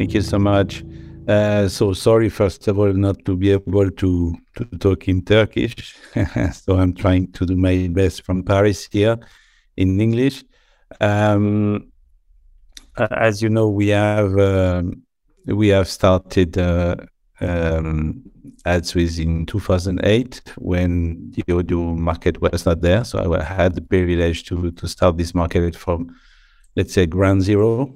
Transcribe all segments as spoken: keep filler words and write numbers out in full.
Thank you so much. Uh, so sorry, first of all, not to be able to, to talk in Turkish. So I'm trying to do my best from Paris here in English. Um, as you know, we have um, we have started uh, um, AdsWizz in two thousand eight when the audio market was not there. So I had the privilege to to start this market from, let's say, ground zero.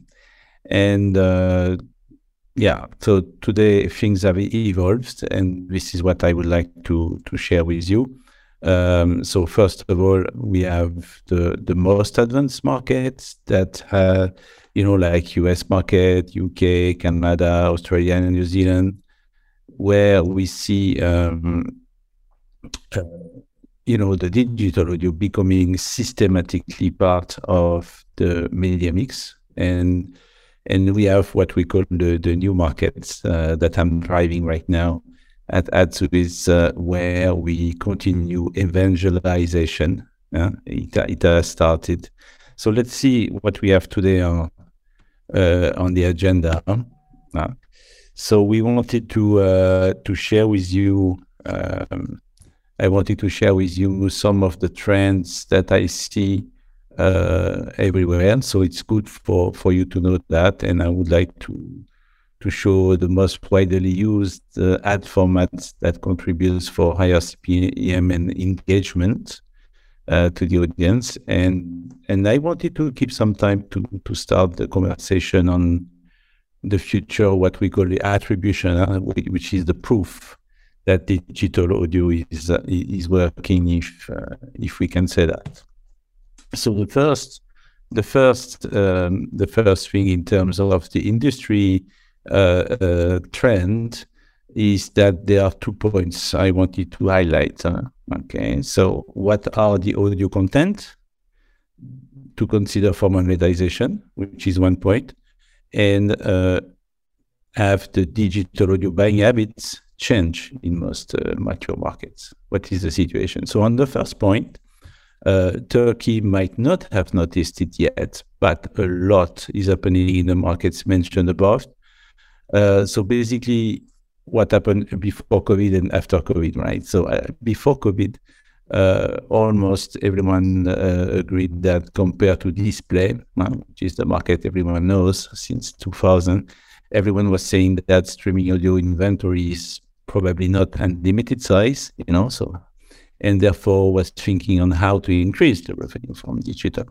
And uh, yeah, so today things have evolved, and this is what I would like to to share with you. Um, so first of all, we have the the most advanced markets that have, you know, like U S market, U K, Canada, Australia, and New Zealand, where we see, um, uh, you know, the digital audio becoming systematically part of the media mix. And And we have what we call the, the new markets uh, that I'm driving right now at AdsWizz, uh, where we continue evangelization. Uh, it, it has started. So let's see what we have today on, uh, on the agenda. Uh, so we wanted to uh, to share with you, um, I wanted to share with you some of the trends that I see uh everywhere, so it's good for for you to know that. And I would like to to show the most widely used uh, ad formats that contributes for higher C P M and engagement uh, to the audience. And and I wanted to keep some time to to start the conversation on the future, what we call the attribution, uh, which is the proof that digital audio is uh, is working, if uh, if we can say that. So the first, the first, um, the first thing in terms of the industry uh, uh, trend is that there are two points I wanted to highlight. Uh, okay, so what are the audio content to consider for monetization, which is one point, and uh, have the digital audio buying habits change in most uh, mature markets? What is the situation? So on the first point, Uh, Turkey might not have noticed it yet, but a lot is happening in the markets mentioned above. Uh, so basically, what happened before COVID and after COVID, right? So uh, before COVID, uh, almost everyone uh, agreed that compared to display, uh, which is the market everyone knows since two thousand, everyone was saying that streaming audio inventory is probably not unlimited size, you know, so and therefore was thinking on how to increase the revenue from digital.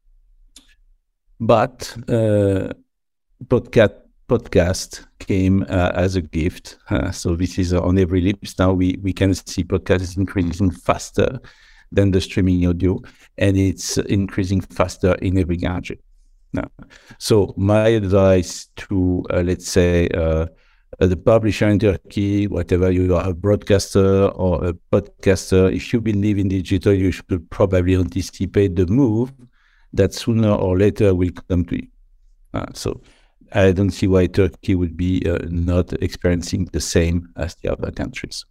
But uh, podcast, podcast came uh, as a gift. Uh, so this is on every lips now. We, we can see podcasts increasing faster than the streaming audio, and it's increasing faster in every gadget. Now, so my advice to, uh, let's say, uh, Uh, the publisher in Turkey, whatever you are, a broadcaster or a podcaster, if you believe in digital, you should probably anticipate the move that sooner or later will come to you. Uh, so I don't see why Turkey would be uh, not experiencing the same as the other countries.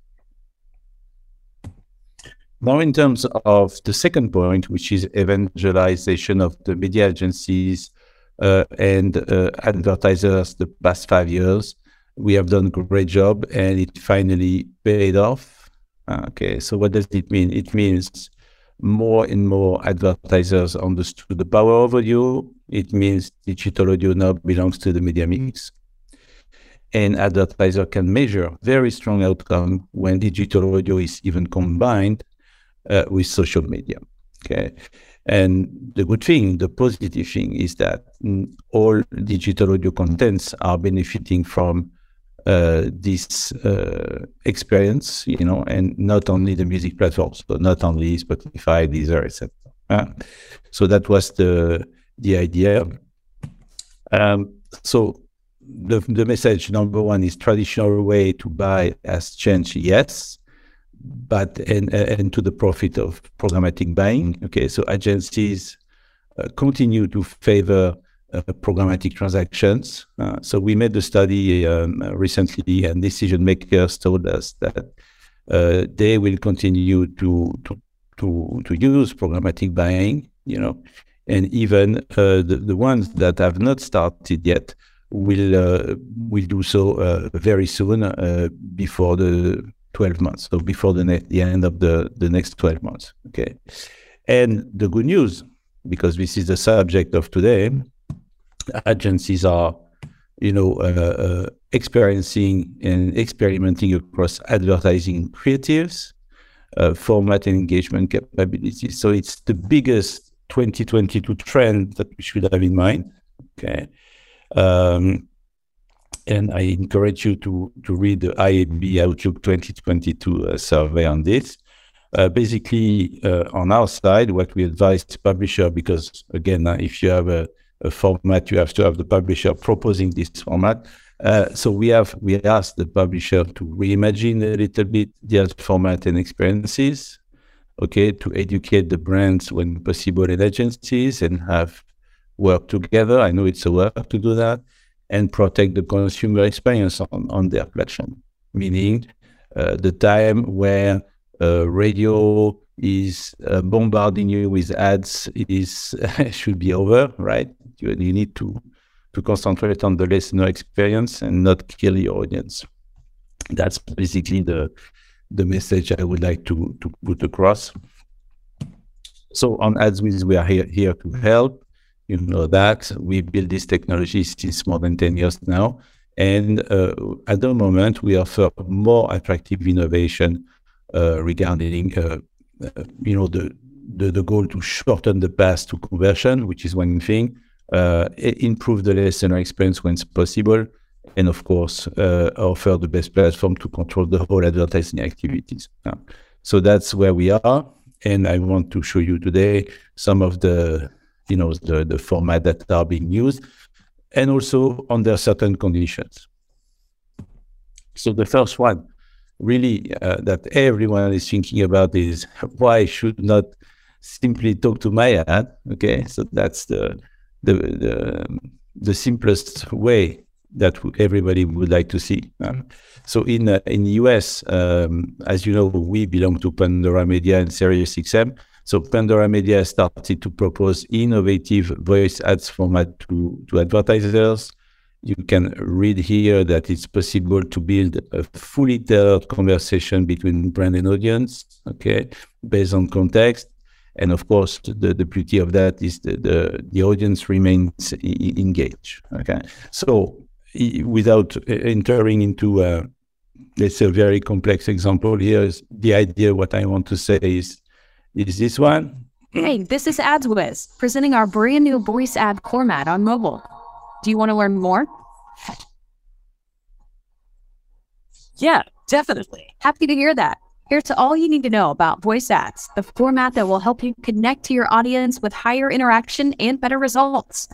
Now, in terms of the second point, which is evangelization of the media agencies uh, and uh, advertisers the past five years, we have done a great job, and it finally paid off. Okay, so what does it mean? It means more and more advertisers understood the power of audio. It means digital audio now belongs to the media mix. And advertiser can measure very strong outcome when digital audio is even combined uh, with social media. Okay. And the good thing, the positive thing is that mm, all digital audio contents are benefiting from Uh, this uh, experience, you know, and not only the music platforms, so not only Spotify, Deezer, et cetera. Uh, so that was the the idea. Um, so the the message number one is traditional way to buy has changed, yes, but and and to the profit of programmatic buying. Okay, so agencies uh, continue to favor Uh, programmatic transactions. Uh, so we made the study um, recently, and decision makers told us that uh, they will continue to to to to use programmatic buying, you know, and even uh, the the ones that have not started yet will uh, will do so uh, very soon, uh, before the twelve months, so before the, ne- the end of the, the next twelve months. Okay, and the good news, because this is the subject of today, agencies are, you know, uh, uh, experiencing and experimenting across advertising creatives, uh, format and engagement capabilities. So it's the biggest twenty twenty-two trend that we should have in mind. Okay. Um, and I encourage you to, to read the I A B Outlook twenty twenty-two uh, survey on this. Uh, basically, uh, on our side, what we advise the publisher, because again, uh, if you have a, a format, you have to have the publisher proposing this format. Uh, so we have we asked the publisher to reimagine a little bit their format and experiences, okay, to educate the brands when possible in agencies and have work together. I know it's a work to do that, and protect the consumer experience on, on their platform, meaning uh, the time where uh, radio is uh, bombarding you with ads is should be over, right? You, you need to, to concentrate on the listener experience and not kill your audience. That's basically the, the message I would like to, to put across. So on AdsWizz, we are here, here to help. You know that we build this technology since more than ten years now. And uh, at the moment, we offer more attractive innovation uh, regarding, uh, uh, you know, the, the, the goal to shorten the path to conversion, which is one thing, uh, improve the listener experience when it's possible, and of course, uh, offer the best platform to control the whole advertising activities. Uh, so that's where we are. And I want to show you today some of the you know, the, the format that are being used, and also under certain conditions. So the first one, really, uh, that everyone is thinking about is why I should not simply talk to my ad, okay? So that's the, the, the, the simplest way that everybody would like to see. Um, so in, uh, in the U S, um, as you know, we belong to Pandora Media and SiriusXM. So Pandora Media started to propose innovative voice ads format to, to advertisers. You can read here that it's possible to build a fully tailored conversation between brand and audience, okay, based on context. And of course, the, the beauty of that is the, the, the audience remains engaged, okay? So without entering into, uh, let's say, a very complex example, here is the idea. What I want to say is, is this one. Hey, this is AdsWizz, presenting our brand new voice ad format on mobile. Do you want to learn more? Yeah, definitely. Happy to hear that. Here's all you need to know about voice ads, the format that will help you connect to your audience with higher interaction and better results.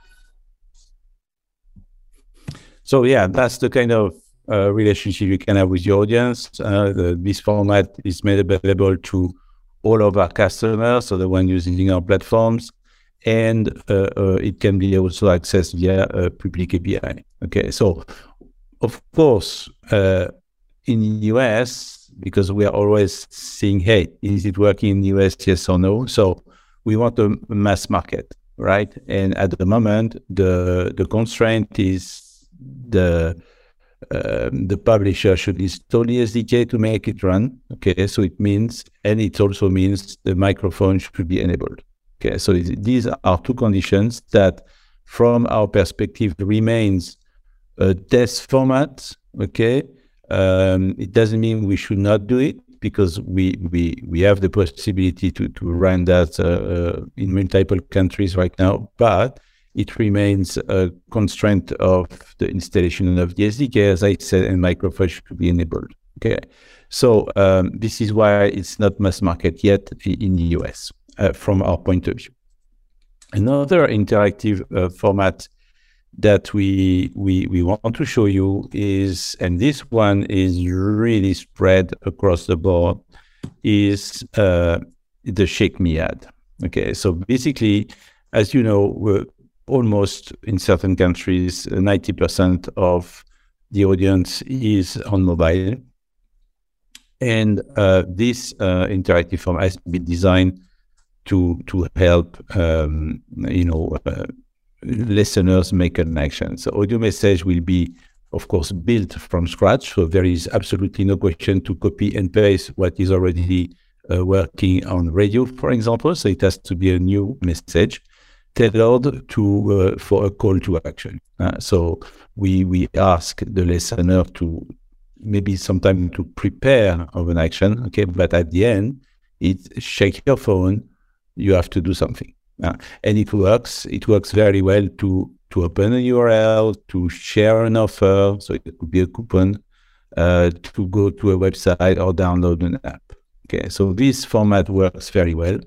So yeah, that's the kind of uh, relationship you can have with your audience. Uh, the, this format is made available to all of our customers, so the one using our platforms, and uh, uh, it can be also accessed via a public A P I. Okay, so of course, uh, in the U S, because we are always seeing, hey, is it working in the U S, yes or no? So we want a mass market, right? And at the moment, the the constraint is the Um, the publisher should install the S D K to make it run. Okay, so it means, and it also means the microphone should be enabled. Okay, so it, these are two conditions that, from our perspective, remains a test format. Okay, um, it doesn't mean we should not do it, because we we we have the possibility to to run that uh, in multiple countries right now, but it remains a constraint of the installation of the S D K, as I said, and microphone should be enabled. Okay, so um, this is why it's not mass market yet in the U S uh, from our point of view. Another interactive uh, format that we we we want to show you is, and this one is really spread across the board, is uh, the Shake Me ad. Okay, so basically, as you know, we're almost in certain countries, ninety percent of the audience is on mobile. And uh, this uh, interactive form has been designed to to help, um, you know, uh, listeners make an action. So audio message will be, of course, built from scratch. So there is absolutely no question to copy and paste what is already uh, working on radio, for example. So it has to be a new message tailored to uh, for a call to action. Uh, so we we ask the listener to maybe sometime to prepare of an action, okay, but at the end, it's shake your phone, you have to do something. Uh, and it works, it works very well to, to open a U R L, to share an offer, so it could be a coupon, uh, to go to a website or download an app. Okay, so this format works very well.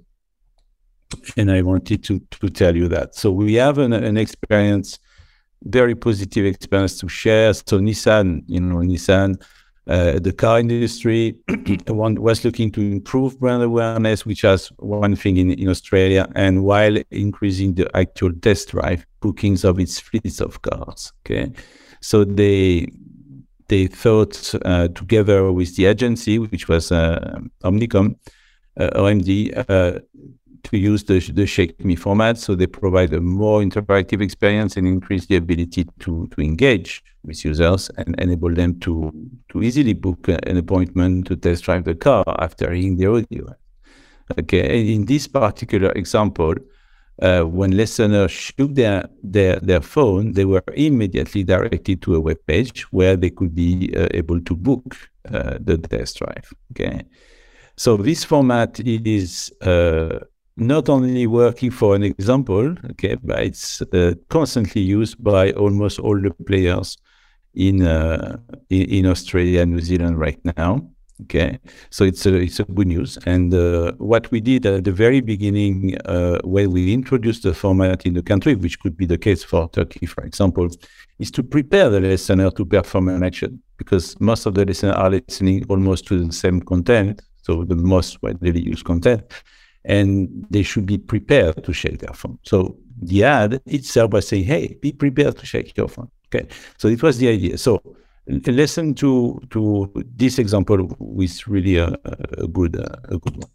And I wanted to, to tell you that. So we have an, an experience, very positive experience to share. So Nissan, you know, Nissan, uh, the car industry one was looking to improve brand awareness, which has one thing in, in Australia, and while increasing the actual test drive bookings of its fleets of cars. Okay, so they they thought uh, together with the agency, which was uh, Omnicom, uh, O M D, uh, to use the, the Shake Me format, so they provide a more interactive experience and increase the ability to, to engage with users and enable them to, to easily book an appointment to test drive the car after hearing the audio. Okay, and in this particular example, uh, when listeners shook their, their, their phone, they were immediately directed to a web page where they could be uh, able to book uh, the test drive. Okay, so this format is uh, not only working for an example, okay, but it's uh, constantly used by almost all the players in, uh, in in Australia and New Zealand right now. Okay, so it's a it's a good news. And uh, what we did at the very beginning, uh, when we introduced the format in the country, which could be the case for Turkey, for example, is to prepare the listener to perform an action, because most of the listeners are listening almost to the same content, so the most widely used content, and they should be prepared to shake their phone. So the ad itself was saying, hey, be prepared to shake your phone. Okay, so it was the idea. So listen to to this example with really a, a good uh, a good one.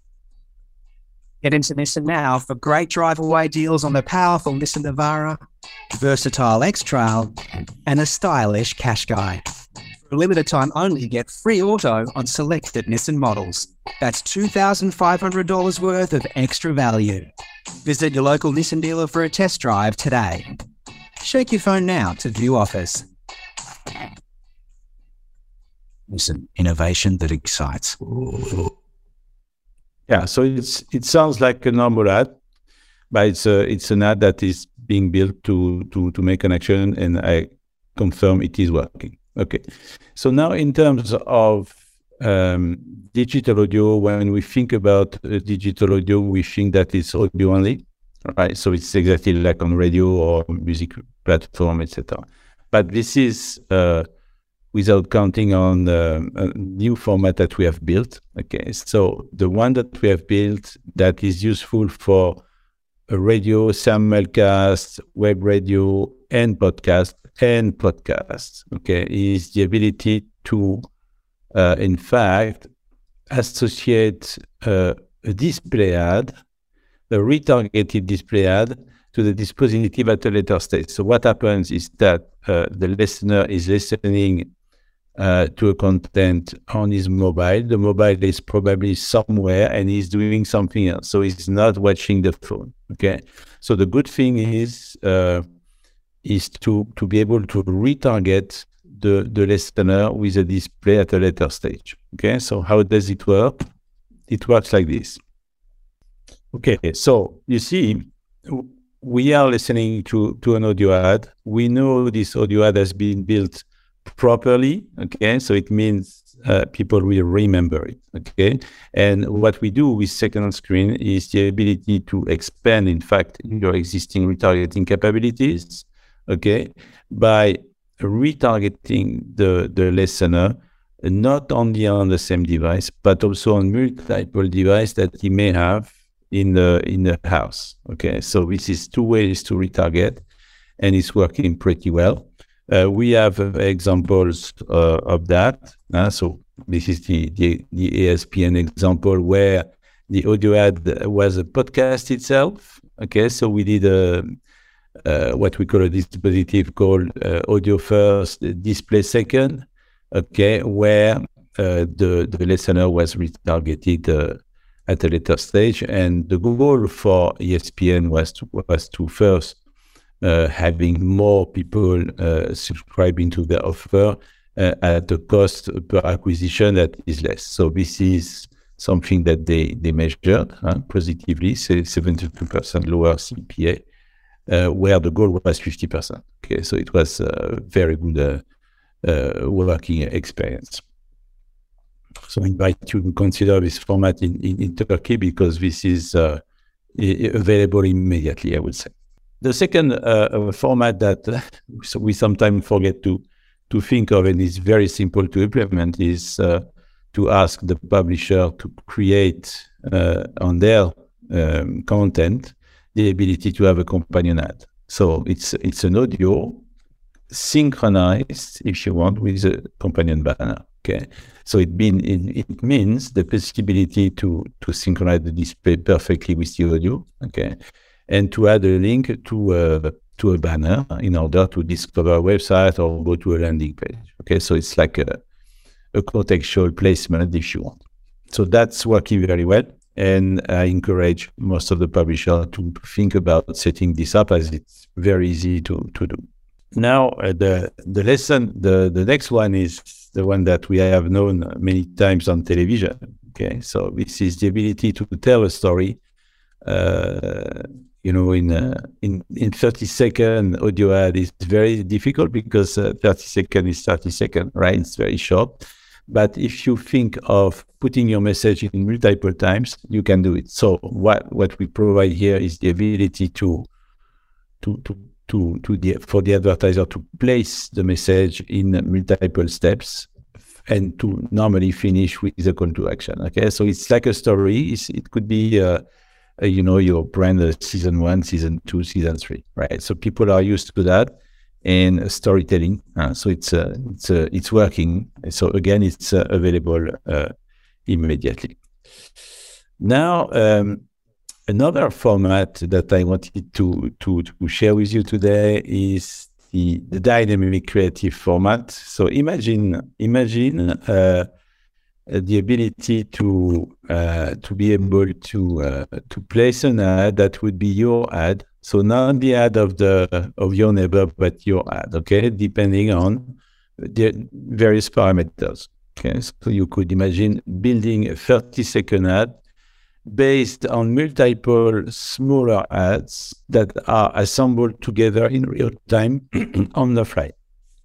Get into Nissan now for great drive-away deals on the powerful Nissan Navara, versatile X-Trail, and a stylish Qashqai. For a limited time only, get free auto on selected Nissan models. That's two thousand five hundred dollars worth of extra value. Visit your local Nissan dealer for a test drive today. Shake your phone now to view offers. Nissan, innovation that excites. Yeah, so it's it sounds like a normal ad, but it's a, it's an ad that is being built to to to make an action, and I confirm it is working. Okay, so now in terms of um, digital audio, when we think about uh, digital audio, we think that it's audio only, right? So it's exactly like on radio or music platform, et cetera. But this is uh, without counting on uh, a new format that we have built. Okay, so the one that we have built that is useful for a radio, simulcast, web radio, and podcast, and podcasts, okay, is the ability to, uh, in fact, associate uh, a display ad, a retargeted display ad, to the dispositive at a later stage. So what happens is that uh, the listener is listening uh, to a content on his mobile. The mobile is probably somewhere and he's doing something else. So he's not watching the phone, okay? So the good thing is uh, is to, to be able to retarget the, the listener with a display at a later stage, okay? So how does it work? It works like this. Okay, so you see, we are listening to, to an audio ad. We know this audio ad has been built properly, okay? So it means uh, people will remember it, okay? And what we do with second screen is the ability to expand, in fact, your existing retargeting capabilities, okay? By retargeting the, the listener, not only on the same device, but also on multiple devices that he may have in the in the house. Okay, so this is two ways to retarget, and it's working pretty well. Uh, we have uh, examples uh, of that. Uh, so this is the, the the E S P N example where the audio ad was a podcast itself. Okay, so we did a uh, what we call a dispositive called uh, audio first, display second, okay, where uh, the, the listener was retargeted uh, at a later stage. And the goal for E S P N was to, was to first uh, having more people uh, subscribing to their offer uh, at a cost per acquisition that is less. So this is something that they, they measured uh, positively, say seventy-two percent lower C P A, uh, where the goal was fifty percent. Okay, so it was a very good uh, uh, working experience. So I invite you to consider this format in, in, in Turkey because this is uh, available immediately, I would say. The second uh, format that uh, we sometimes forget to, to think of and is very simple to implement is uh, to ask the publisher to create uh, on their um, content the ability to have a companion ad. So it's it's an audio synchronized, if you want, with a companion banner. Okay, so it mean it, it means the possibility to to synchronize the display perfectly with the audio. Okay, and to add a link to a to a banner in order to discover a website or go to a landing page. Okay, so it's like a a contextual placement, if you want. So that's working very well. And I encourage most of the publishers to think about setting this up as it's very easy to, to do. Now, uh, the the lesson, the, the next one is the one that we have known many times on television. Okay, so this is the ability to tell a story, uh, you know, in, uh, in, in thirty second audio ad is very difficult because uh, thirty second is thirty second, right? It's very short. But if you think of putting your message in multiple times, you can do it. So what, what we provide here is the ability to, to, to, to, to the, for the advertiser to place the message in multiple steps and to normally finish with a call to action. Okay, so it's like a story. It's, it could be, uh, uh, you know, your brand uh, season one, season two, season three, right? So people are used to that. And storytelling, uh, so it's uh, it's uh, it's working. So again, it's uh, available uh, immediately. Now, um, another format that I wanted to to to share with you today is the the dynamic creative format. So imagine imagine uh, the ability to uh, to be able to uh, to place an ad that would be your ad. So not the ad of the of your neighbor, but your ad, okay, depending on the various parameters. Okay, so you could imagine building a thirty second ad based on multiple smaller ads that are assembled together in real time on the fly.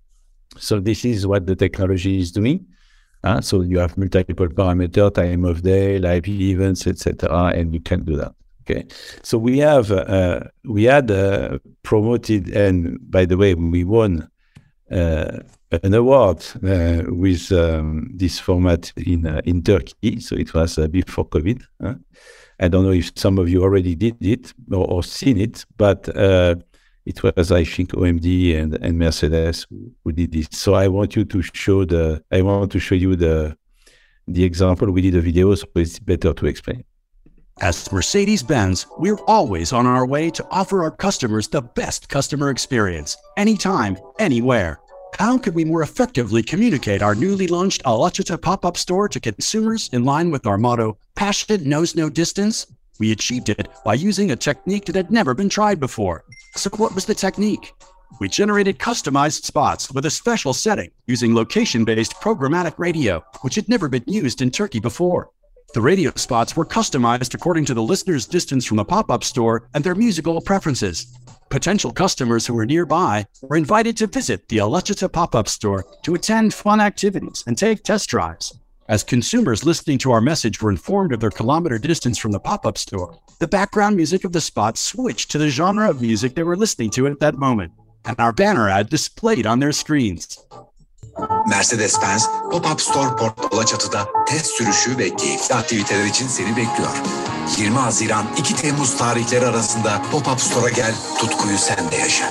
So this is what the technology is doing. Uh, so you have multiple parameters, time of day, live events, et cetera, and you can do that. Okay, so we have uh, we had uh, promoted, and by the way, we won uh, an award uh, with um, this format in uh, in Turkey. So it was uh, before COVID. Huh? I don't know if some of you already did it or, or seen it, but uh, it was, I think, O M D and, and Mercedes who, who did this. So I want you to show the. I want to show you the the example. We did a video, so it's better to explain. As Mercedes-Benz, we're always on our way to offer our customers the best customer experience, anytime, anywhere. How could we more effectively communicate our newly launched Alaçatı pop-up store to consumers in line with our motto, Passion knows no distance? We achieved it by using a technique that had never been tried before. So what was the technique? We generated customized spots with a special setting using location-based programmatic radio, which had never been used in Turkey before. The radio spots were customized according to the listener's distance from the pop-up store and their musical preferences. Potential customers who were nearby were invited to visit the Alaçatı pop-up store to attend fun activities and take test drives. As consumers listening to our message were informed of their kilometer distance from the pop-up store, the background music of the spot switched to the genre of music they were listening to at that moment, and our banner ad displayed on their screens. Mercedes-Benz Pop-Up Store Port Alaçatı'da test sürüşü ve keyifli aktiviteler için seni bekliyor. yirmi Haziran iki Temmuz tarihleri arasında Pop-Up Store'a gel, tutkuyu sen de yaşa.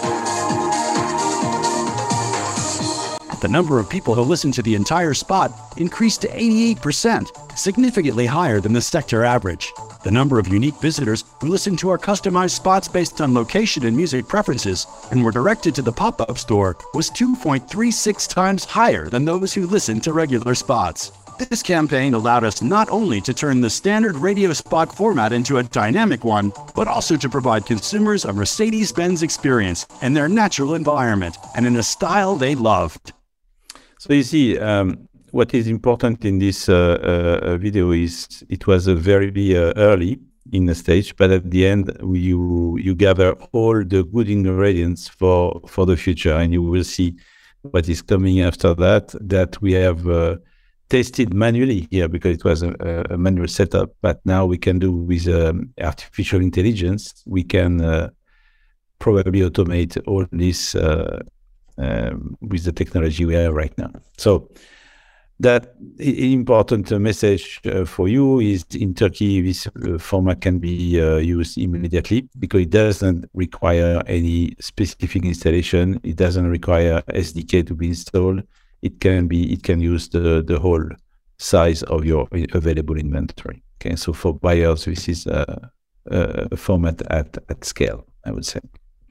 The number of people who listened to the entire spot increased to eighty-eight percent, significantly higher than the sector average. The number of unique visitors who listened to our customized spots based on location and music preferences and were directed to the pop-up store was two point three six times higher than those who listened to regular spots. This campaign allowed us not only to turn the standard radio spot format into a dynamic one, but also to provide consumers a Mercedes-Benz experience in their natural environment and in a style they loved. So you see, um, what is important in this uh, uh, video is it was a very uh, early in the stage, but at the end you you gather all the good ingredients for for the future, and you will see what is coming after that. That we have uh, tested manually here because it was a, a manual setup, but now we can do with um, artificial intelligence. We can uh, probably automate all this uh, uh, with the technology we have right now. So that important uh, message uh, for you is in Turkey, this uh, format can be uh, used immediately because it doesn't require any specific installation. It doesn't require S D K to be installed. It can be, it can use the, the whole size of your available inventory. Okay, so for buyers, this is a, a format at, at scale, I would say.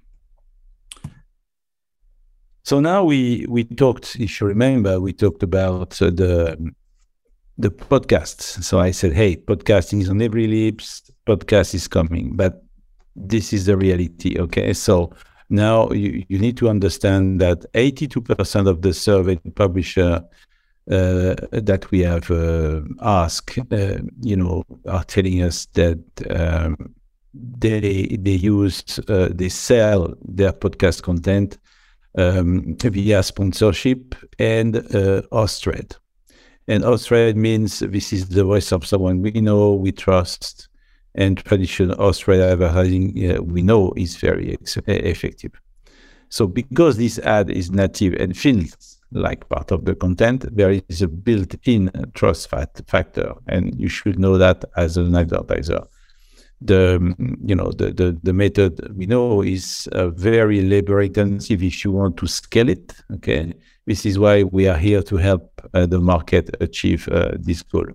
So now we we talked, if you remember, we talked about uh, the the podcasts. So I said, hey, podcasting is on every lips, podcast is coming, but this is the reality, okay? So now you, you need to understand that eighty-two percent of the survey publisher uh, that we have uh, asked, uh, you know, are telling us that um, they they use, uh, they sell their podcast content Um, via sponsorship and uh, host-read. And host-read means this is the voice of someone we know, we trust, and traditional host-read advertising uh, we know is very effective. So because this ad is native and feels like part of the content, there is a built-in trust factor, and you should know that as an advertiser. The you know the, the the method we know is uh, very labor intensive if you want to scale it. Okay, this is why we are here to help uh, the market achieve uh, this goal.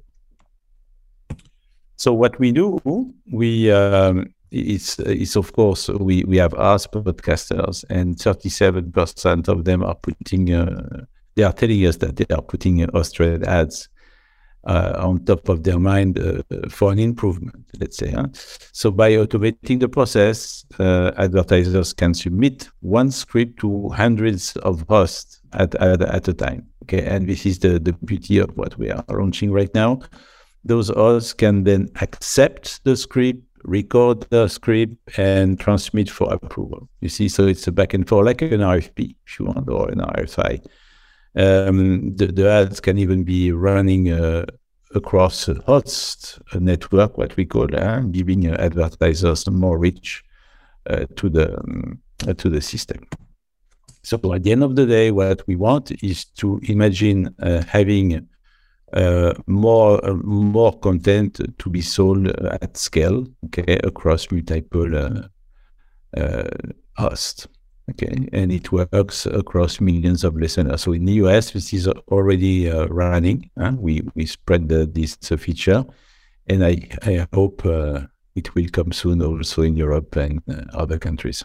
So what we do, we um, it's it's of course we we have asked podcasters, and thirty-seven percent of them are putting uh, they are telling us that they are putting uh, host-read ads Uh, on top of their mind uh, for an improvement, let's say. Huh? So by automating the process, uh, advertisers can submit one script to hundreds of hosts at, at, at a time. Okay, and this is the, the beauty of what we are launching right now. Those hosts can then accept the script, record the script, and transmit for approval. You see, so it's a back and forth, like an R F P, if you want, or an R F I. Um, the, the ads can even be running uh, across a host a network, what we call, uh, giving uh, advertisers more reach uh, to the um, uh, to the system. So at the end of the day, what we want is to imagine uh, having uh, more uh, more content to be sold at scale, okay, across multiple uh, uh, hosts. Okay, and it works across millions of listeners. So in the U S, this is already uh, running. Huh? We we spread the, this uh, feature, and I I hope uh, it will come soon also in Europe and uh, other countries.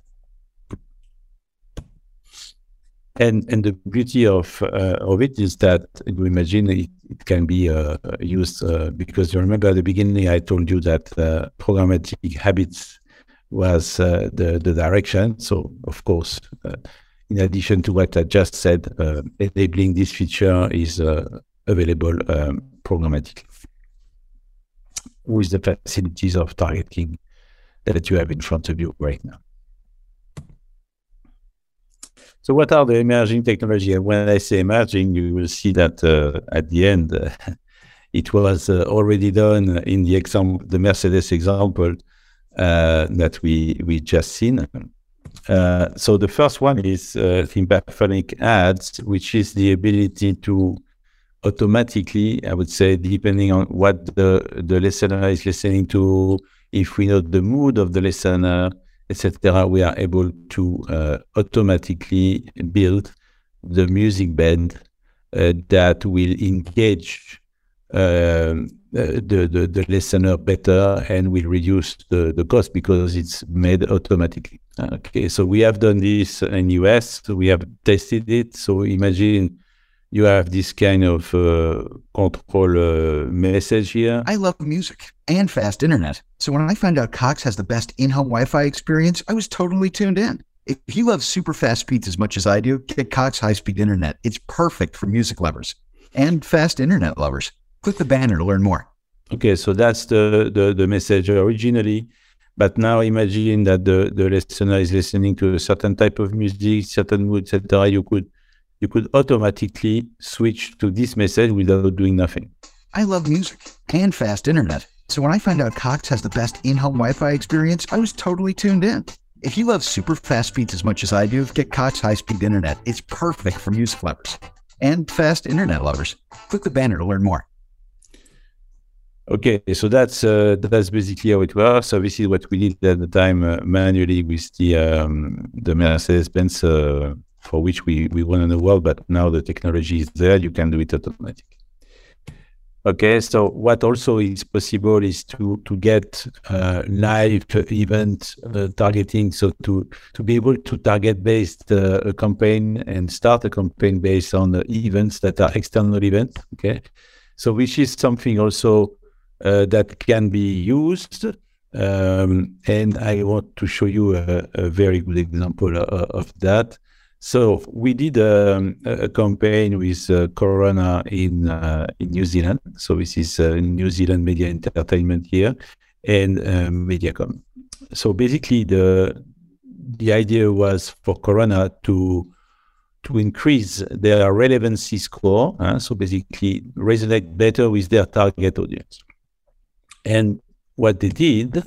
And and the beauty of uh, of it is that you imagine it, it can be uh, used uh, because you remember at the beginning I told you that uh, programmatic habits was uh, the, the direction. So, of course, uh, in addition to what I just said, uh, enabling this feature is uh, available um, programmatically with the facilities of targeting that you have in front of you right now. So what are the emerging technologies? And when I say emerging, you will see that uh, at the end, uh, it was uh, already done in the example, the Mercedes example, Uh, that we we just seen. Uh, so the first one is uh, Tympaphonic ads, which is the ability to automatically, I would say, depending on what the the listener is listening to, if we know the mood of the listener, et cetera, we are able to uh, automatically build the music bed uh, that will engage uh, the, the, the listener better and will reduce the, the cost because it's made automatically. Okay, so we have done this in U S, so we have tested it. So imagine you have this kind of uh, control uh, message here. I love music and fast internet. So when I found out Cox has the best in-home Wi-Fi experience, I was totally tuned in. If you love super fast speeds as much as I do, get Cox high-speed internet. It's perfect for music lovers and fast internet lovers. Click the banner to learn more. Okay, so that's the, the, the message originally. But now imagine that the, the listener is listening to a certain type of music, certain mood, et cetera. You could you could automatically switch to this message without doing nothing. I love music and fast internet. So when I found out Cox has the best in-home Wi-Fi experience, I was totally tuned in. If you love super fast speeds as much as I do, get Cox high-speed internet. It's perfect for music lovers and fast internet lovers. Click the banner to learn more. Okay, so that's uh, that's basically how it works. So this is what we did at the time uh, manually with the um, the Mercedes-Benz uh, for which we, we won in the world, but now the technology is there, you can do it automatically. Okay, so what also is possible is to to get uh, live event uh, targeting, so to to be able to target based uh, a campaign and start a campaign based on the events that are external events. Okay, so which is something also uh, that can be used, um, and I want to show you a, a very good example of, of that. So we did um, a campaign with uh, Corona in uh, in New Zealand. So this is uh, New Zealand Media Entertainment here, and uh, Mediacom. So basically, the the idea was for Corona to to increase their relevancy score. Uh, so basically, resonate better with their target audience. And what they did,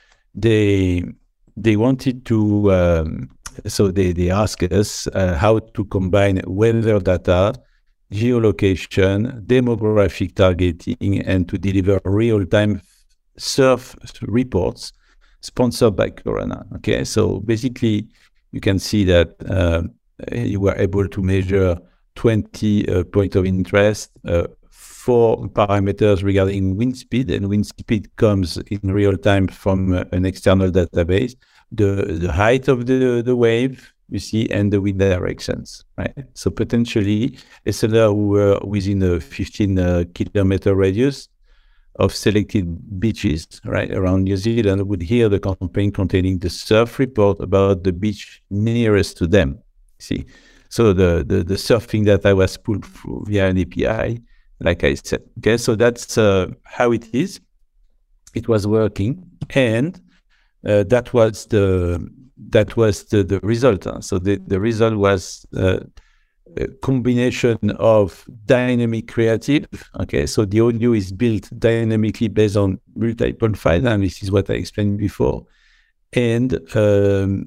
they they wanted to. Um, So they, they ask us uh, how to combine weather data, geolocation, demographic targeting, and to deliver real-time surf reports sponsored by Corona. Okay, so basically you can see that uh, you were able to measure twenty uh, points of interest, uh, four parameters regarding wind speed, and wind speed comes in real time from uh, an external database. The, the height of the, the wave, you see, and the wind directions, right? So potentially, listeners who were within a fifteen uh, kilometer radius of selected beaches, right, around New Zealand would hear the campaign containing the surf report about the beach nearest to them, see? So the, the, the surfing data was pulled through via an A P I, like I said, okay? So that's uh, how it is. It was working, and Uh, that was the that was the, the result. Huh? So the, the result was uh, a combination of dynamic creative. Okay, so the audio is built dynamically based on multiple files, and this is what I explained before, and um,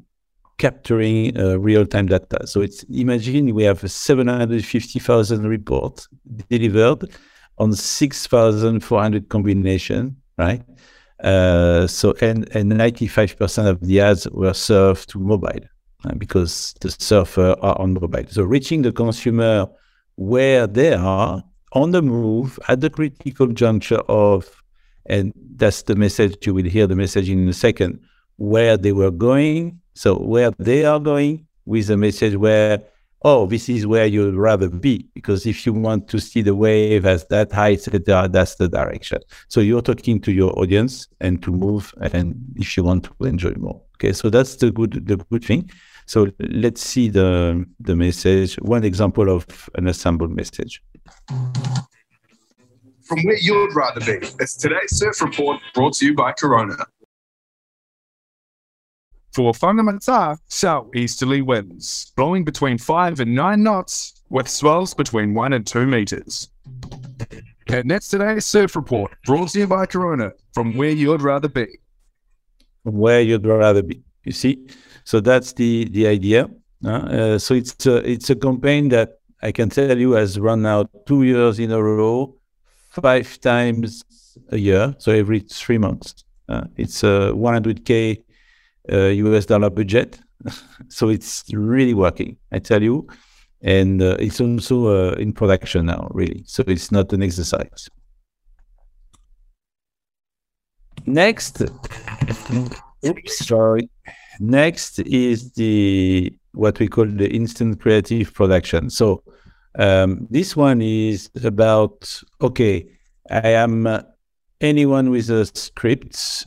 capturing uh, real-time data. So it's imagine we have seven hundred fifty thousand reports delivered on six thousand four hundred combinations, right? Uh, so and and ninety-five percent of the ads were served to mobile uh, because the surfers are on mobile. So reaching the consumer where they are on the move at the critical juncture of, and that's the message, you will hear the message in a second, where they were going. So where they are going with a message where, oh, this is where you'd rather be, because if you want to see the wave as that high, et cetera, that's the direction. So you're talking to your audience and to move, and if you want to enjoy more. Okay, so that's the good the good thing. So let's see the the message. One example of an assembled message. From where you'd rather be. It's today's surf report brought to you by Corona. For Whangamata, southeasterly winds, blowing between five and nine knots, with swells between one and two meters. And that's today's surf report, brought to you by Corona, from where you'd rather be. From where you'd rather be, you see? So that's the, the idea. Uh, uh, so it's a, it's a campaign that I can tell you has run now two years in a row, five times a year, so every three months. Uh, it's a one hundred K Uh, U S dollar budget, so it's really working, I tell you, and uh, it's also uh, in production now, really. So it's not an exercise. next, oops, sorry. Next is the what we call the instant creative production. So um, this one is about, okay, I am uh, anyone with a script,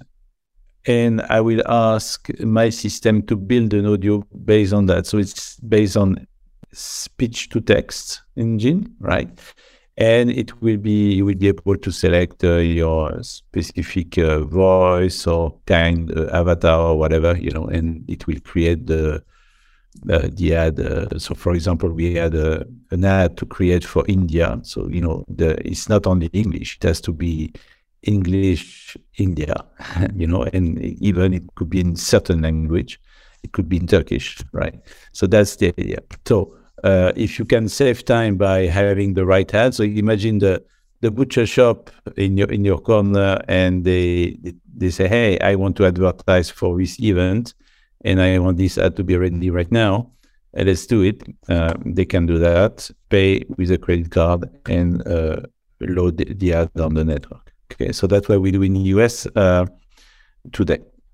and I will ask my system to build an audio based on that. So it's based on speech to text engine, right? And it will be, you will be able to select uh, your specific uh, voice or kind uh, avatar or whatever, you know, and it will create the uh, the ad. Uh, so, for example, we had a, an ad to create for India. So, you know, the it's not only English; it has to be English India, you know, and even it could be in certain language. It could be in Turkish, right? So that's the idea. So. Uh, if you can save time by having the right ad, so imagine the the butcher shop in your in your corner, and they they say, "Hey, I want to advertise for this event, and I want this ad to be ready right now. And let's do it." Uh, they can do that, pay with a credit card, and uh, load the, the ad on the network. Okay, so that's what we do in the U S uh, today.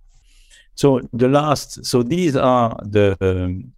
So the last, so these are the um,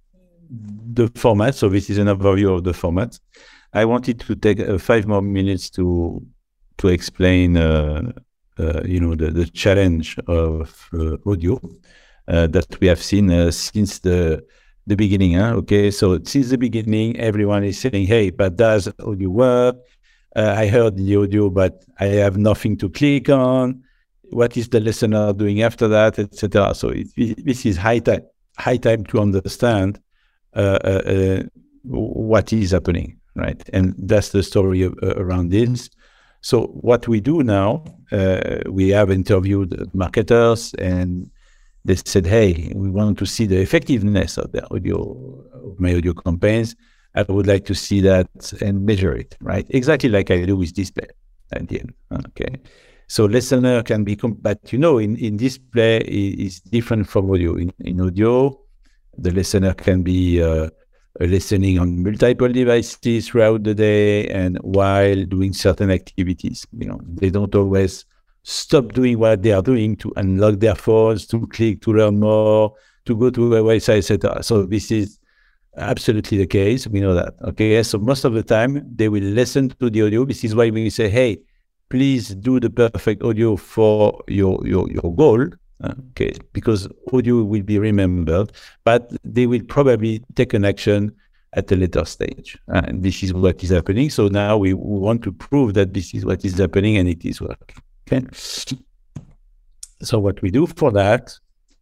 the format. So this is an overview of the format. I wanted to take uh, five more minutes to to explain, uh, uh, you know, the, the challenge of uh, audio uh, that we have seen uh, since the the beginning. Huh? Okay, so since the beginning, everyone is saying, "Hey, but does audio work? Uh, I heard the audio, but I have nothing to click on. What is the listener doing after that, et cetera" So it, it, this is high time high time to understand Uh, uh, uh, what is happening, right? And that's the story of, uh, around this. So what we do now, uh, we have interviewed marketers, and they said, "Hey, we want to see the effectiveness of the audio, of my audio campaigns. I would like to see that and measure it," right? Exactly like I do with display at the end. Okay. So listener can be, but you know, in, in display is different from audio. In, in audio, the listener can be uh, listening on multiple devices throughout the day and while doing certain activities. You know, they don't always stop doing what they are doing to unlock their phones, to click, to learn more, to go to a website, et cetera. So this is absolutely the case. We know that. Okay, so most of the time they will listen to the audio. This is why we say, "Hey, please do the perfect audio for your your your goal." Okay, because audio will be remembered, but they will probably take an action at a later stage. Uh, and this is what is happening. So now we, we want to prove that this is what is happening and it is working. Okay. So what we do for that,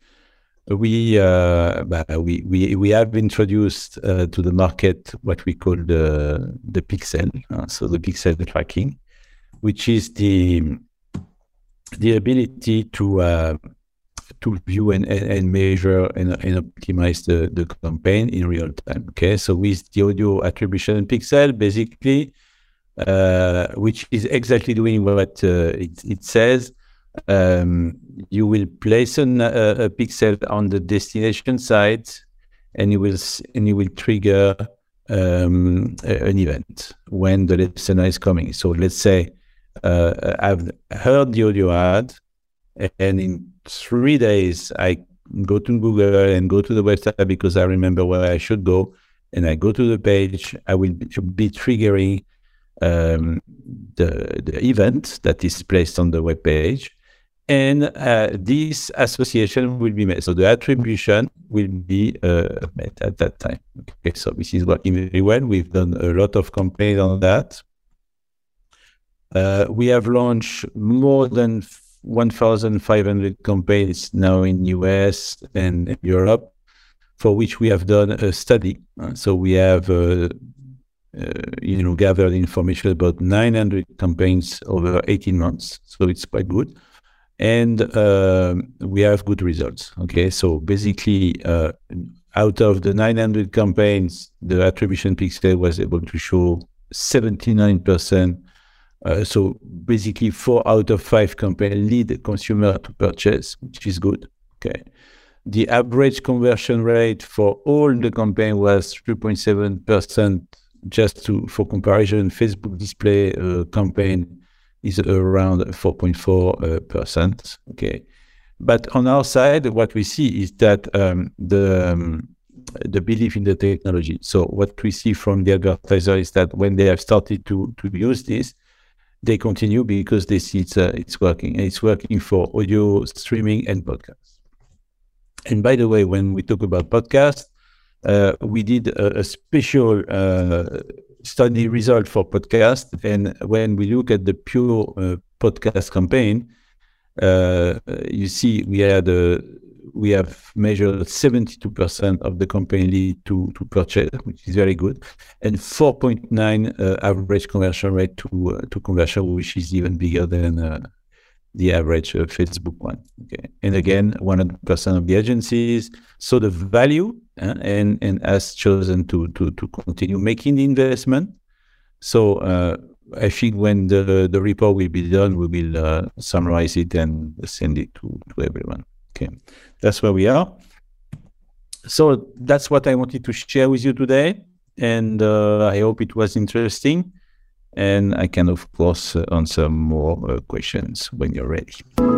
we uh, we we we have introduced uh, to the market what we call the the pixel. Uh, so the pixel tracking, which is the the ability to uh, to view and, and measure and, and optimize the, the campaign in real time. Okay, so with the audio attribution pixel, basically, uh, which is exactly doing what uh, it, it says, um, you will place an, a, a pixel on the destination site, and you will and you will trigger um, a, an event when the listener is coming. So let's say uh, I've heard the audio ad, and in three days, I go to Google and go to the website because I remember where I should go, and I go to the page. I will be triggering um, the, the event that is placed on the web page, and uh, this association will be made. So the attribution will be uh, made at that time. Okay, so this is working very well. We've done a lot of campaigns on that. Uh, we have launched more than one thousand five hundred campaigns now in U S and in Europe, for which we have done a study. Uh, so we have, uh, uh, you know, gathered information about nine hundred campaigns over eighteen months. So it's quite good. And uh, we have good results. Okay, so basically, uh, out of the nine hundred campaigns, the attribution pixel was able to show seventy-nine percent. Uh, so basically, four out of five campaigns lead the consumer to purchase, which is good. Okay, the average conversion rate for all the campaign was three point seven percent. Just to for comparison, Facebook display uh, campaign is around four point four percent. Okay, but on our side, what we see is that um, the um, the belief in the technology. So what we see from the advertiser is that when they have started to to use this, they continue because they see it's uh, it's working, and it's working for audio streaming and podcasts. And by the way, when we talk about podcasts, uh, we did a, a special uh, study result for podcast, and when we look at the pure uh, podcast campaign, uh, you see we had a, we have measured seventy-two percent of the campaign lead to to purchase, which is very good, and four point nine uh, average conversion rate to uh, to conversion, which is even bigger than uh, the average uh, Facebook one. Okay, and again, one hundred percent of the agencies saw the value uh, and and has chosen to to to continue making the investment. So uh, I think when the the report will be done, we will uh, summarize it and send it to to everyone. Okay, that's where we are. So that's what I wanted to share with you today, and uh, I hope it was interesting. And I can, of course, uh, answer more uh, questions when you're ready.